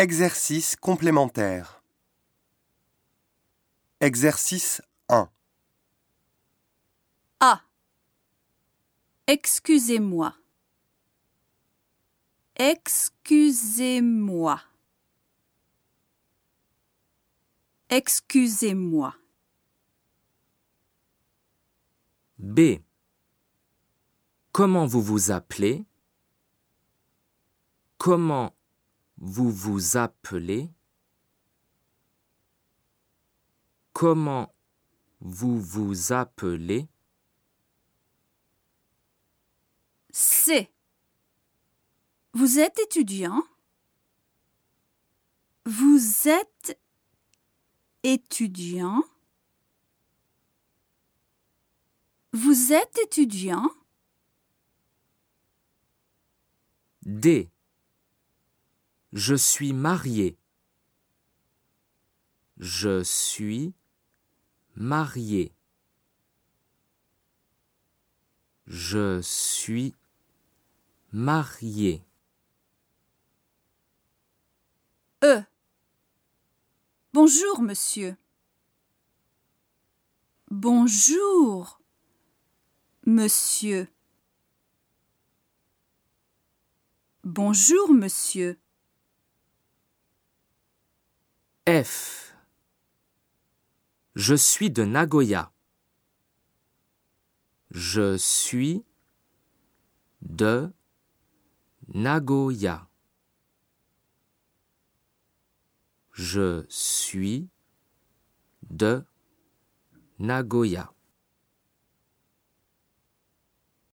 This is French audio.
Exercice complémentaire. Exercice 1. A. Excusez-moi. Excusez-moi. Excusez-moi. B. Comment vous vous appelez? Comment vous vous appelez? Comment vous vous appelez? C. Vous êtes étudiant? Vous êtes étudiant? Vous êtes étudiant? D. Je suis marié. Je suis marié. Je suis marié. E. Bonjour, monsieur. Bonjour, monsieur. Bonjour, monsieur. F. Je suis de Nagoya. Je suis de Nagoya. Je suis de Nagoya.